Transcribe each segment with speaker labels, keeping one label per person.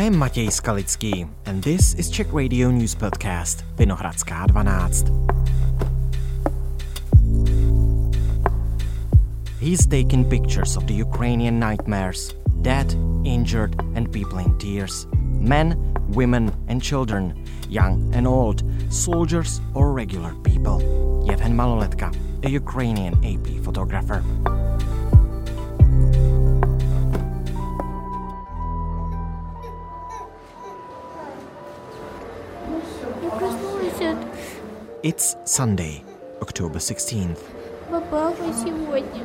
Speaker 1: I am Matěj Skalický and this is Czech Radio News Podcast Vinohradská 12. He's taking pictures of the Ukrainian nightmares, dead, injured and people in tears. Men, women and children, young and old, soldiers or regular people. Yevhen Maloletka, a Ukrainian AP photographer. It's Sunday, October 16th.
Speaker 2: Папа, сегодня.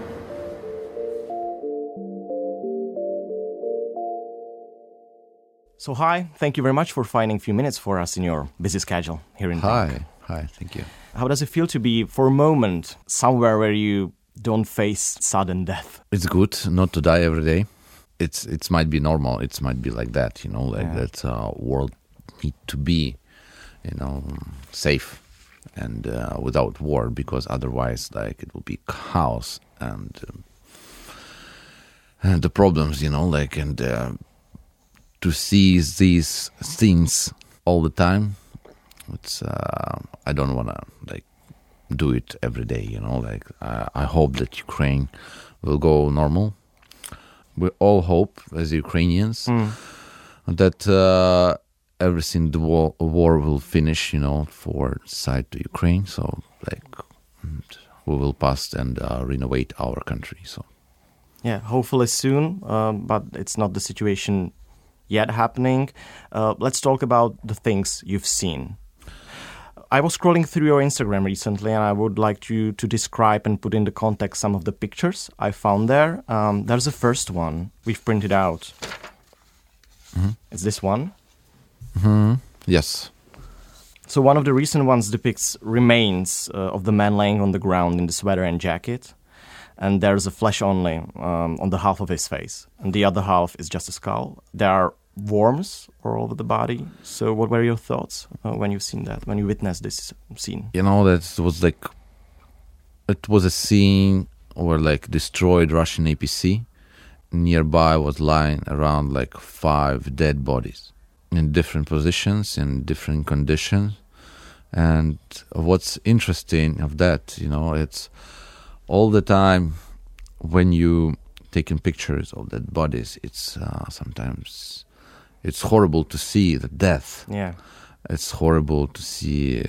Speaker 1: So hi, thank you very much for finding a few minutes for us in your busy schedule here in Prague.
Speaker 3: Hi, thank you.
Speaker 1: How does it feel to be, for a moment, somewhere where you don't face sudden death?
Speaker 3: It's good not to die every day. It might be normal. It might be like that, that world need to be, safe and without war, because otherwise, it will be chaos and the problems, to see these things all the time. It's I don't want to do it every day. I hope that Ukraine will go normal. We all hope as Ukrainians that everything the war will finish. For side to Ukraine. So we will pass and renovate our country. So
Speaker 1: yeah, hopefully soon. But it's not the situation yet happening. Let's talk about the things you've seen. I was scrolling through your Instagram recently, and I would like you to describe and put into context some of the pictures I found there. There's the first one we've printed out.
Speaker 3: Mm-hmm.
Speaker 1: It's this one.
Speaker 3: Mm-hmm. Yes.
Speaker 1: So one of the recent ones depicts remains of the man laying on the ground in the sweater and jacket. And there's a flesh only on the half of his face. And the other half is just a skull. There are worms all over the body. So what were your thoughts when you've seen that, when you witnessed this scene?
Speaker 3: It was a scene where destroyed Russian APC. Nearby was lying around 5 dead bodies in different positions, in different conditions. And what's interesting of that, it's all the time when you taking pictures of dead bodies, it's sometimes it's horrible to see the death.
Speaker 1: Yeah,
Speaker 3: it's horrible to see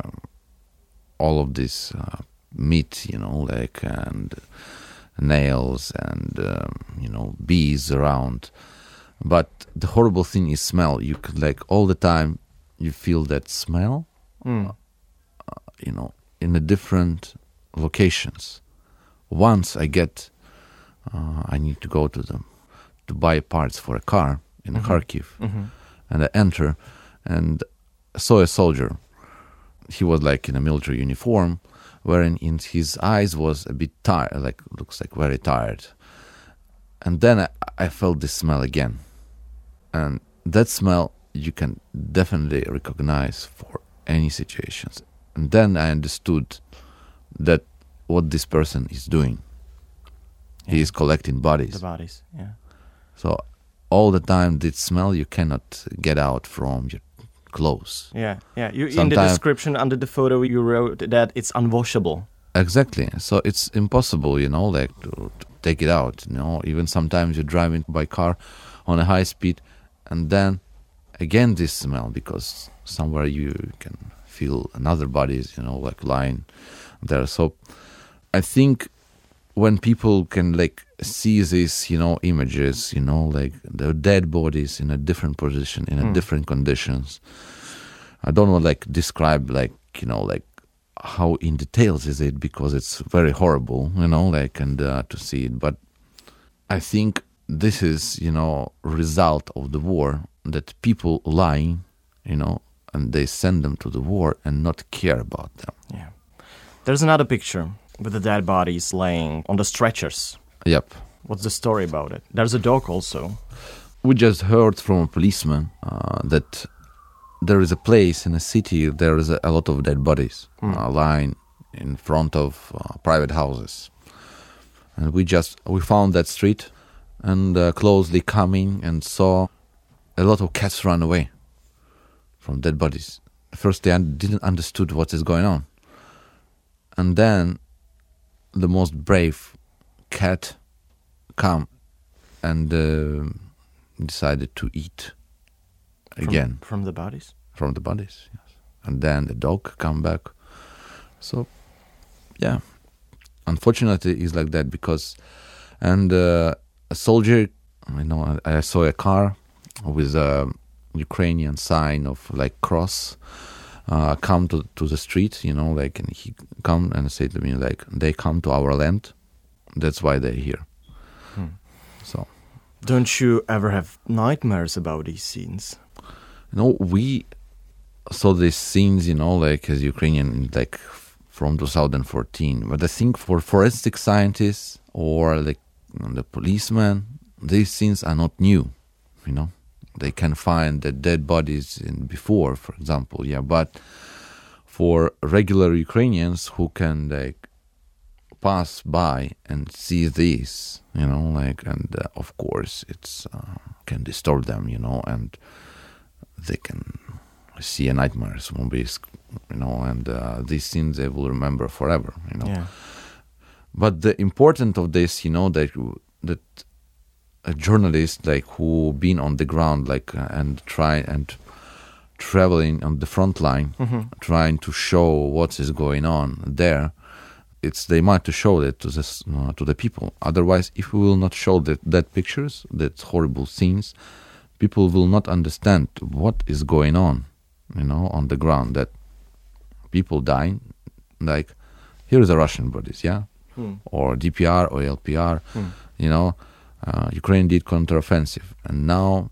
Speaker 3: all of this meat, and nails and bees around. But the horrible thing is smell. You could all the time you feel that smell, in the different locations. Once I need to go to them to buy parts for a car in Kharkiv, and I enter and saw a soldier. He was in a military uniform, wherein in his eyes was a bit tired, looks very tired. And then I felt this smell again, and that smell you can definitely recognize for any situations. And then I understood that what this person is doing. Yeah. He is collecting bodies.
Speaker 1: The bodies, yeah.
Speaker 3: So all the time, this smell you cannot get out from your clothes.
Speaker 1: Yeah. In the description under the photo, you wrote that it's unwashable.
Speaker 3: Exactly. So it's impossible, to take it out. Even sometimes you're driving by car on a high speed, and then again this smell, because somewhere you can feel another bodies, lying there. So I think when people can see these, images, the dead bodies in a different position, in a different conditions. I don't want to describe how in details is it, because it's very horrible, and to see it. But I think this is, result of the war, that people lying, and they send them to the war and not care about them.
Speaker 1: Yeah. There's another picture with the dead bodies laying on the stretchers.
Speaker 3: Yep.
Speaker 1: What's the story about it? There's a dog also.
Speaker 3: We just heard from a policeman that there is a place in a city, there is a lot of dead bodies lying in front of private houses. And we found that street and closely coming and saw a lot of cats run away from dead bodies. First, they didn't understood what is going on. And then the most brave cat come and decided to eat again.
Speaker 1: From the bodies?
Speaker 3: From the bodies, yes. And then the dog come back. So, yeah. Unfortunately, it's like that because... And a soldier, I saw a car with a Ukrainian sign of like cross come to the street, and he come and say to me like, they come to our land, that's why they're here. So,
Speaker 1: don't you ever have nightmares about these scenes?
Speaker 3: We saw these scenes, like as Ukrainian, like from 2014. But I think for forensic scientists or like the policemen, these scenes are not new, They can find the dead bodies before, for example, But for regular Ukrainians who can like pass by and see this, and of course it's can disturb them, and they can see a nightmares movies, and these scenes they will remember forever,
Speaker 1: Yeah.
Speaker 3: But the important of this, that a journalist like who been on the ground like and try and traveling on the front line, trying to show what is going on there. They might to show that to the people. Otherwise, if we will not show that pictures, that horrible scenes, people will not understand what is going on, on the ground. That people dying, like here is the Russian bodies, or DPR or LPR, Ukraine did counteroffensive, and now,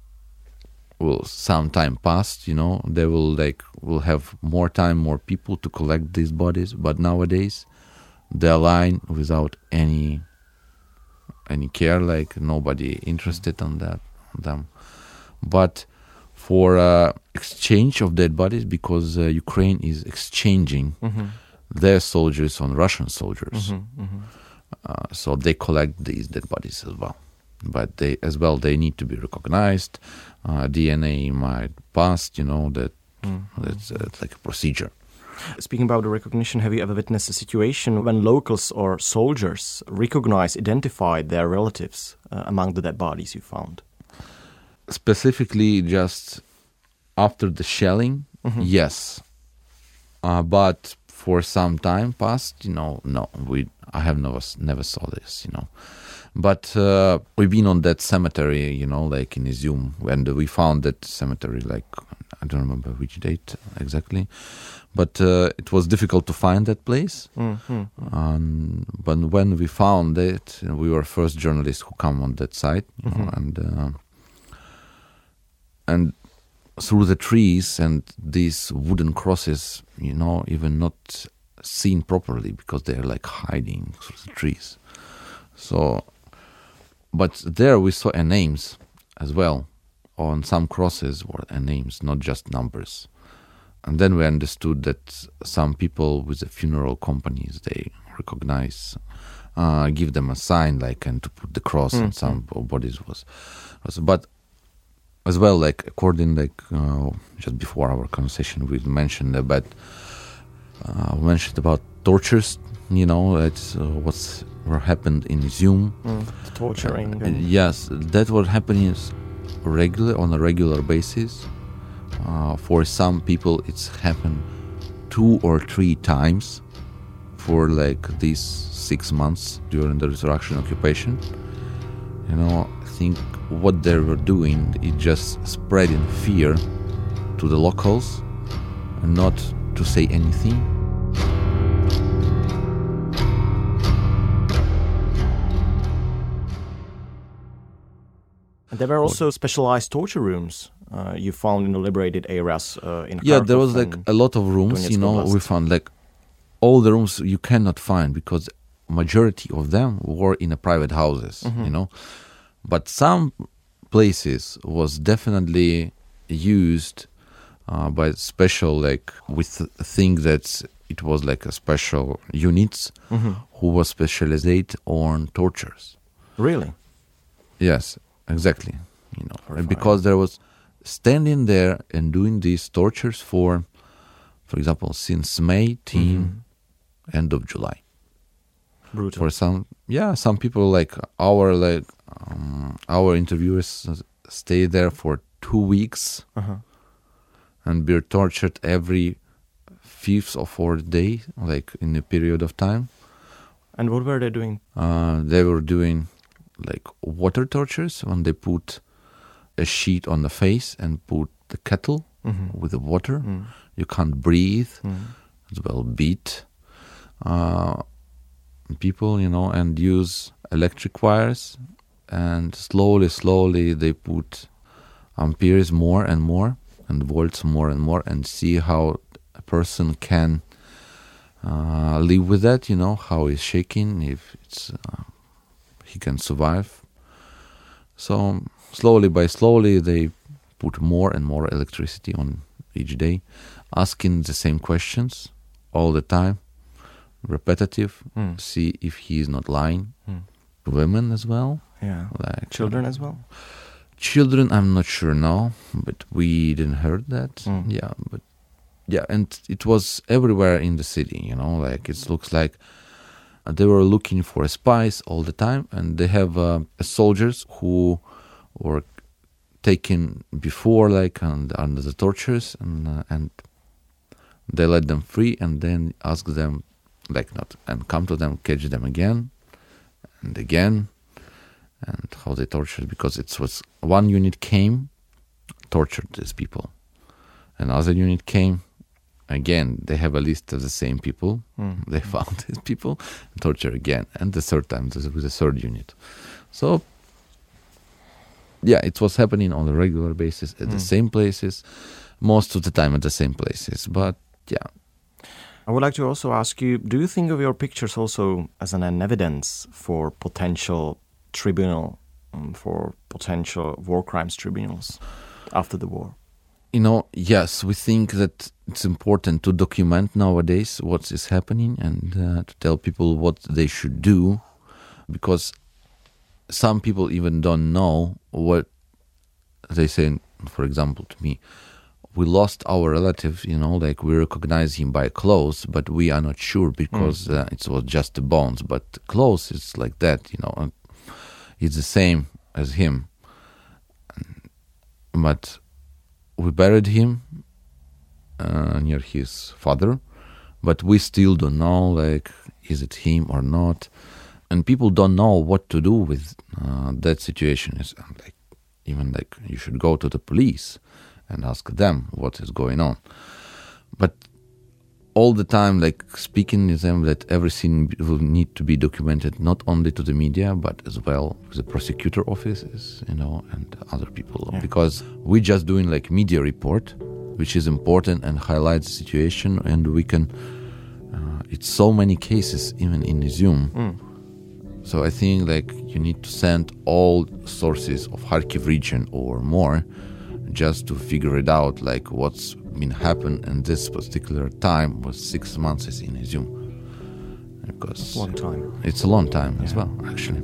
Speaker 3: some time passed, they will have more time, more people to collect these bodies. But nowadays, they're lying without any care, like nobody interested on them. But for exchange of dead bodies, because Ukraine is exchanging their soldiers on Russian soldiers. So they collect these dead bodies as well. But they need to be recognized. DNA might pass, that's like a procedure.
Speaker 1: Speaking about the recognition, have you ever witnessed a situation when locals or soldiers identified their relatives among the dead bodies you found?
Speaker 3: Specifically, just after the shelling, yes. But for some time past, no, I have never saw this, But we've been on that cemetery, like in Izium, and we found that cemetery, like, I don't remember which date exactly, but it was difficult to find that place. But when we found it, we were first journalists who come on that site, and through the trees and these wooden crosses, even not seen properly because they're like hiding through the trees. So, but there we saw names as well. On some crosses were names, not just numbers. And then we understood that some people with the funeral companies, they recognize, give them a sign, like, and to put the cross on some bodies was. But as well, like, according, like, just before our conversation, we mentioned about tortures, it's what happened in Izium.
Speaker 1: The torturing.
Speaker 3: Yes, that what happening on a regular basis. For some people, it's happened 2 or 3 times for like these 6 months during the resurrection occupation. I think what they were doing is just spreading fear to the locals and not to say anything.
Speaker 1: And there were also specialized torture rooms you found in the liberated areas in Kharkov.
Speaker 3: Yeah, there was like a lot of rooms, we found like all the rooms you cannot find because majority of them were in private houses, But some places was definitely used by special, like with a thing that it was like a special units who was specialized on tortures.
Speaker 1: Really?
Speaker 3: Yes, exactly. And because there was standing there and doing these tortures for example, since May till end of July.
Speaker 1: Brutal.
Speaker 3: For some people our interviewers stay there for 2 weeks and be tortured every 5th or 4th day, like in a period of time.
Speaker 1: And what were they doing?
Speaker 3: They were doing like water tortures when they put a sheet on the face and put the kettle with the water. You can't breathe. As well, beat people, and use electric wires. And slowly they put amperes more and more and volts more and more, and see how a person can live with that, how he's shaking, if it's he can survive. So slowly they put more and more electricity on each day, asking the same questions all the time, repetitive, see if he is not lying. Women as well.
Speaker 1: Yeah.
Speaker 3: Like
Speaker 1: children as well?
Speaker 3: Children, I'm not sure now, but we didn't heard that. And it was everywhere in the city, like it looks like they were looking for spies all the time, and they have soldiers who were taken before, like under the tortures, and they let them free, and then ask them, and come to them, catch them again and again, and how they tortured, because it was one unit came, tortured these people, another unit came, again they have a list of the same people, they found these people, torture again, and the third time with the third unit. So it was happening on a regular basis at the same places, most of the time at the same places. But
Speaker 1: I would like to also ask you, do you think of your pictures also as an evidence for potential tribunal, for potential war crimes tribunals after the war?
Speaker 3: Yes, we think that it's important to document nowadays what is happening and to tell people what they should do, because some people even don't know what they say. For example, to me, we lost our relative, we recognize him by clothes, but we are not sure because it was just the bones. But clothes is like that, it's the same as him. But we buried him near his father, but we still don't know, is it him or not? And people don't know what to do with that situation. It's even you should go to the police and ask them what is going on. But all the time, speaking with them that everything will need to be documented, not only to the media, but as well with the prosecutor offices, and other people. Yeah. Because we're just doing media report, which is important and highlights the situation, and we can, it's so many cases even in Izium. So I think you need to send all sources of Kharkiv region or more, just to figure it out, what's been happened in this particular time was 6 months in Izium. Because
Speaker 1: it's a long time.
Speaker 3: It's a long time as well, actually.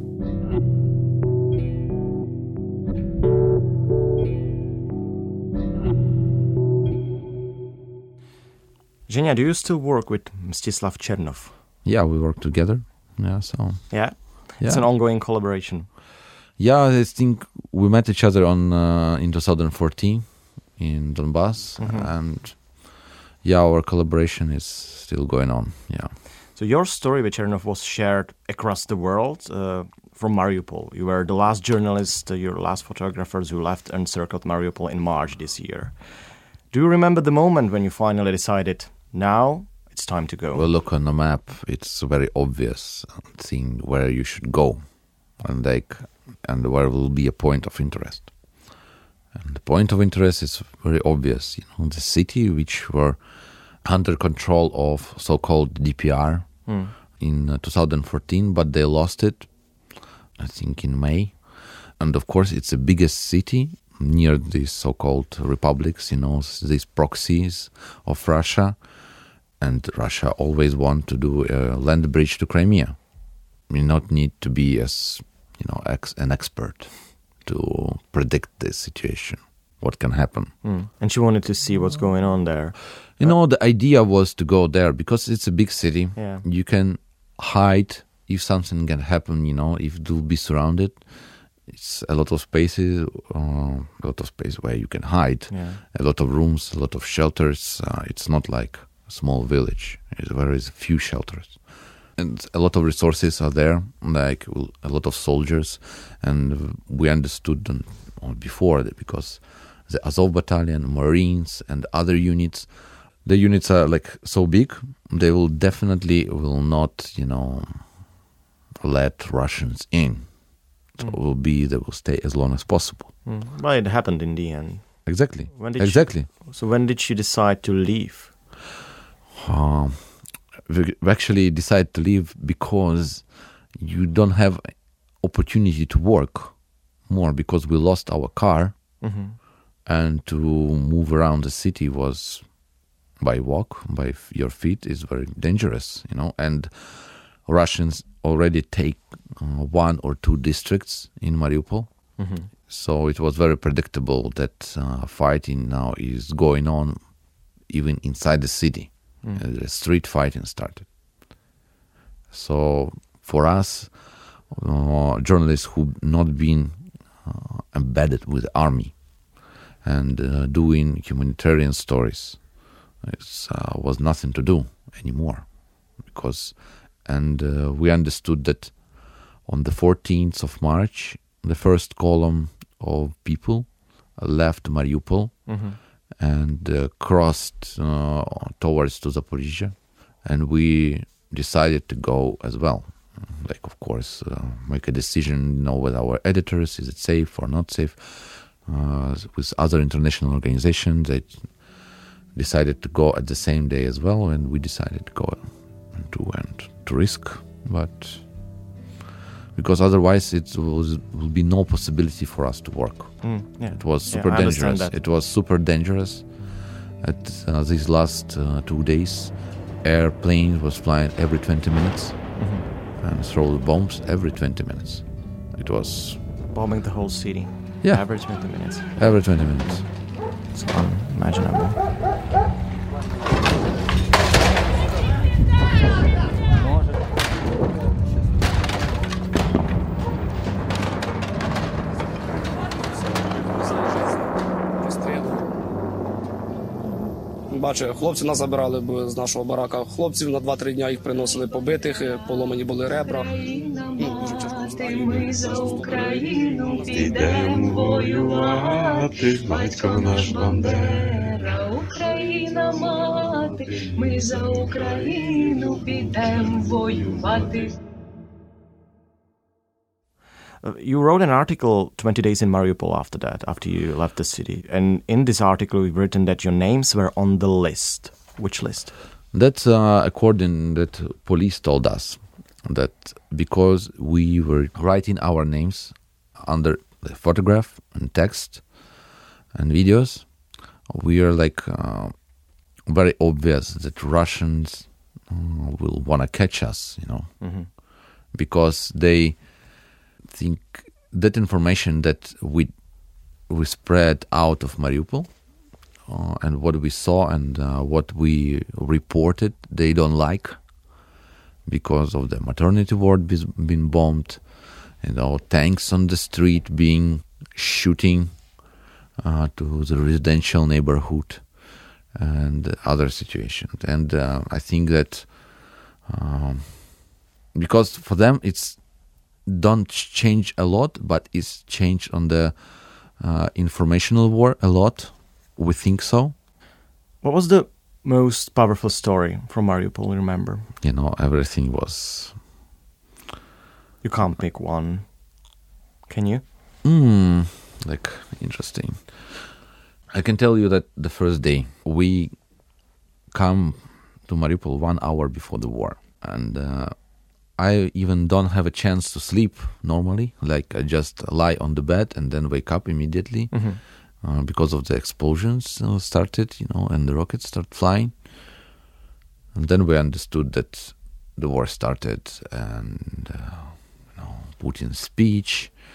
Speaker 1: Zhenya, do you still work with Mstislav Chernov?
Speaker 3: Yeah, we work together.
Speaker 1: Yeah? It's an ongoing collaboration.
Speaker 3: Yeah, I think we met each other in 2014 in Donbass, and our collaboration is still going on. Yeah.
Speaker 1: So your story with Chernov was shared across the world from Mariupol. You were the last journalist, your last photographers who left Encircled Mariupol in March this year. Do you remember the moment when you finally decided, now it's time to go?
Speaker 3: Well, look on the map, it's very obvious thing where you should go, and where will be a point of interest. And the point of interest is very obvious. The city which were under control of so-called DPR in 2014, but they lost it, I think, in May. And of course, it's the biggest city near these so-called republics, these proxies of Russia. And Russia always want to do a land bridge to Crimea. You not need to be an expert to predict this situation, what can happen.
Speaker 1: And she wanted to see what's going on there.
Speaker 3: You know, the idea was to go there because it's a big city.
Speaker 1: Yeah.
Speaker 3: You can hide if something can happen, you know, if you'll be surrounded. It's a lot of spaces, where you can hide.
Speaker 1: Yeah.
Speaker 3: A lot of rooms, a lot of shelters. It's not like a small village. There is a few shelters. And a lot of resources are there, like a lot of soldiers. And we understood them before that because the Azov Battalion, Marines, and other units, the units are like so big, they will not, you know, let Russians in. So they will stay as long as possible.
Speaker 1: Well, it happened in the end.
Speaker 3: Exactly.
Speaker 1: Exactly. So when did she decide to leave?
Speaker 3: We actually decided to leave because you don't have opportunity to work more because we lost our car, and to move around the city was by walk, by your feet is very dangerous, you know. And Russians already take 1 or 2 districts in Mariupol. So it was very predictable that fighting now is going on even inside the city. The street fighting started. So for us, journalists who not been embedded with the army and doing humanitarian stories, it was nothing to do anymore. And we understood that on the 14th of March, the first column of people left Mariupol and crossed towards to Zaporizhia, and we decided to go as well. Like, of course, make a decision, you know, with our editors, is it safe or not safe? With other international organizations, they decided to go at the same day as well, and we decided to go to risk, but because otherwise it will be no possibility for us to work. It was super dangerous. It was super dangerous. At these last 2 days, airplane was flying every 20 minutes and throw bombs every 20 minutes. It was
Speaker 1: bombing the whole city.
Speaker 3: Yeah,
Speaker 1: every 20 minutes.
Speaker 3: Every 20 minutes.
Speaker 1: It's unimaginable.
Speaker 4: Бачу, хлопці нас забирали з нашого барака. Хлопців на 2-3 дня їх приносили побитих, поломані були ребра. Дуже тяжко.
Speaker 5: Ми за Україну підемо воювати, батько наш Бандера, Україна мати, ми за Україну підемо воювати.
Speaker 1: You wrote an article 20 days in Mariupol after you left the city. And in this article, you've written that your names were on the list. Which list?
Speaker 3: That's according that police told us that because we were writing our names under the photograph and text and videos, we are like very obvious that Russians will want to catch us, you know, because they think that information that we spread out of Mariupol and what we saw and what we reported, they don't like because of the maternity ward being bombed, you know, tanks on the street being shooting to the residential neighborhood and other situations. And I think that because for them it's don't change a lot, but it's changed on the informational war a lot. We think so.
Speaker 1: What was the most powerful story from Mariupol, remember?
Speaker 3: You know, everything was...
Speaker 1: You can't pick one. Can you?
Speaker 3: Like, interesting. I can tell you that the first day, we come to Mariupol 1 hour before the war. And I even don't have a chance to sleep normally. Like, I just lie on the bed and then wake up immediately because of the explosions started, you know, and the rockets start flying. And then we understood that the war started, and, you know, Putin's speech,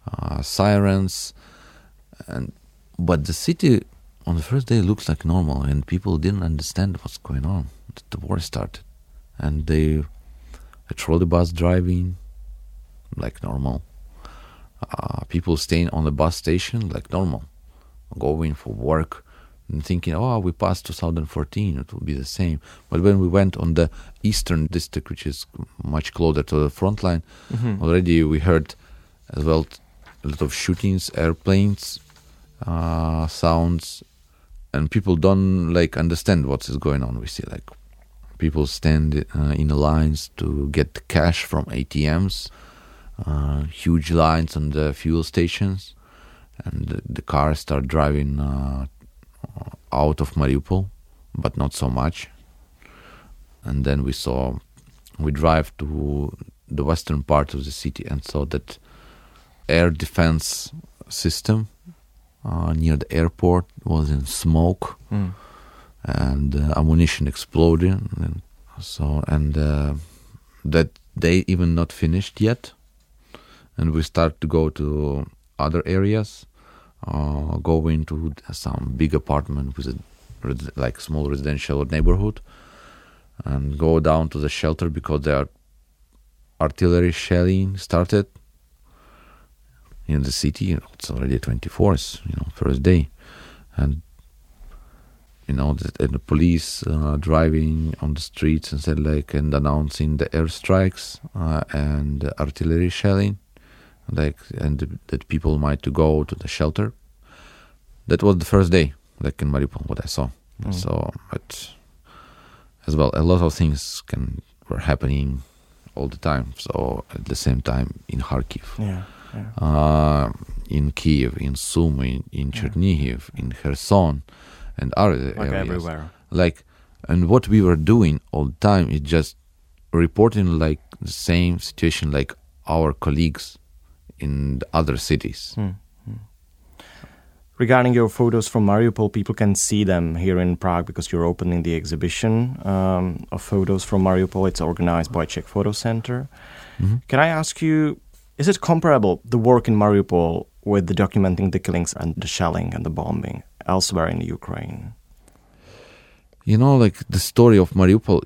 Speaker 3: sirens, but the city on the first day looks like normal, and people didn't understand what's going on. The war started, and a trolley bus driving like normal, people staying on the bus station like normal, going for work and thinking, we passed 2014, it will be the same. But when we went on the eastern district, which is much closer to the front line, already we heard as well a lot of shootings, airplanes, sounds, and people don't understand what is going on. We see people stand in the lines to get cash from ATMs, huge lines on the fuel stations, and the cars start driving out of Mariupol, but not so much. And then we drive to the western part of the city and saw that air defense system near the airport was in smoke, and ammunition exploding, and that they even not finished yet. And we start to go to other areas, go into some big apartment with a small residential neighborhood, and go down to the shelter because there are artillery shelling started in the city. It's already 24th, first day, and the police driving on the streets and said and announcing the airstrikes and artillery shelling, and that people might to go to the shelter. That was the first day, in Mariupol, what I saw. So, but as well, a lot of things were happening all the time. So at the same time in Kharkiv, in Kiev, in Sumy, in Chernihiv, in Kherson, and other areas.
Speaker 1: Everywhere.
Speaker 3: And what we were doing all the time is just reporting the same situation like our colleagues in the other cities.
Speaker 1: Regarding your photos from Mariupol, people can see them here in Prague because you're opening the exhibition of photos from Mariupol. It's organized by Czech Photo Center. Can I ask you, is it comparable, the work in Mariupol, with the documenting the killings and the shelling and the bombing elsewhere in Ukraine?
Speaker 3: The story of Mariupol,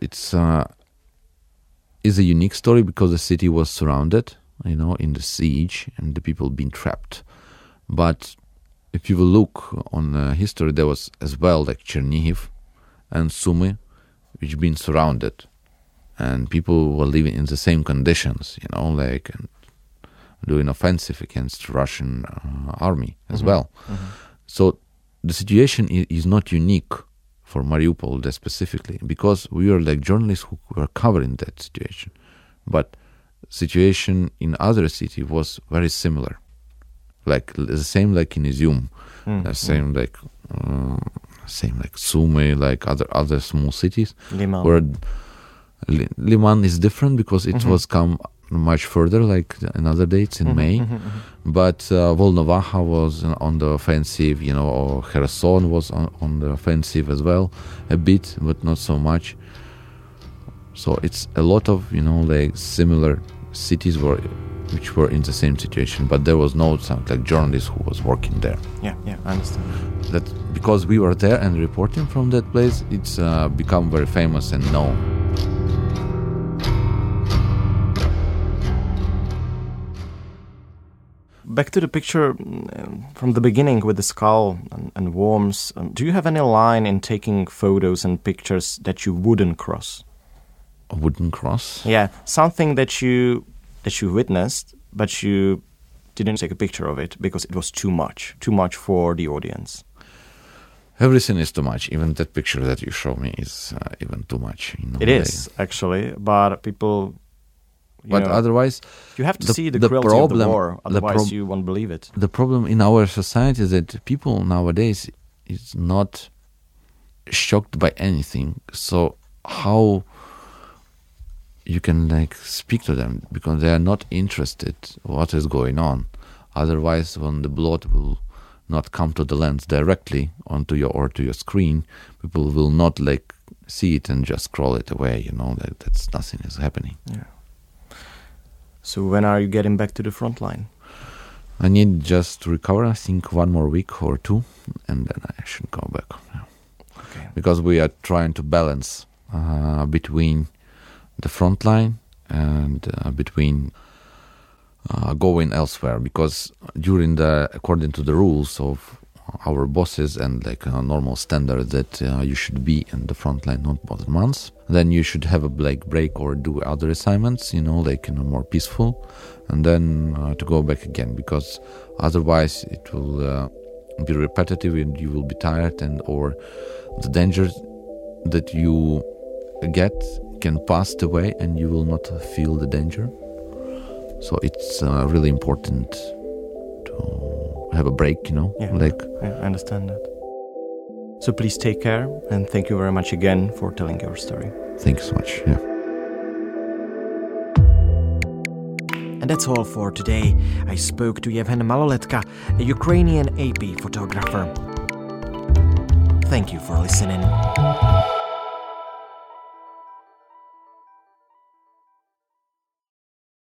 Speaker 3: is a unique story because the city was surrounded, in the siege, and the people being trapped. But if you will look on history, there was as well Chernihiv and Sumy, which been surrounded, and people were living in the same conditions, and doing offensive against Russian army as well. So the situation is not unique for Mariupol specifically, because we are journalists who were covering that situation. But situation in other cities was very similar. The same in Izium, same Sumy, other small cities.
Speaker 1: Liman.
Speaker 3: Where Liman is different because it was come much further, in other dates in May. But Volnovakha was on the offensive, or Kherson was on the offensive as well, a bit, but not so much. So it's a lot of, similar cities which were in the same situation, but there was no journalist who was working there.
Speaker 1: Yeah, I understand.
Speaker 3: That because we were there and reporting from that place, it's become very famous and known.
Speaker 1: Back to the picture from the beginning with the skull and worms. Do you have any line in taking photos and pictures that you wouldn't cross?
Speaker 3: A wooden cross?
Speaker 1: Yeah, something that you witnessed, but you didn't take a picture of it because it was too much for the audience.
Speaker 3: Everything is too much. Even that picture that you show me is even too much.
Speaker 1: It is, actually, but people...
Speaker 3: otherwise...
Speaker 1: You have to see the cruelty of the war, otherwise you won't believe it.
Speaker 3: The problem in our society is that people nowadays is not shocked by anything. So how you can speak to them, because they are not interested what is going on. Otherwise, when the blood will not come to the lens directly onto your screen, people will not see it and just scroll it away. That's nothing is happening.
Speaker 1: Yeah. So when are you getting back to the front line?
Speaker 3: I need just to recover, I think, 1 more week or 2, and then I should go back. Yeah.
Speaker 1: Okay.
Speaker 3: Because we are trying to balance between the front line and between going elsewhere. Because according to the rules of our bosses and like a normal standard that you should be in the front line not more than months. Then you should have a break or do other assignments, like more peaceful, and then to go back again, because otherwise it will be repetitive and you will be tired, and or the dangers that you get can pass away and you will not feel the danger. So it's really important to have a break,
Speaker 1: Yeah, I understand that. So please take care, and thank you very much again for telling your story.
Speaker 3: Thank you so much. Yeah.
Speaker 1: And that's all for today. I spoke to Yevhen Maloletka, a Ukrainian AP photographer. Thank you for listening.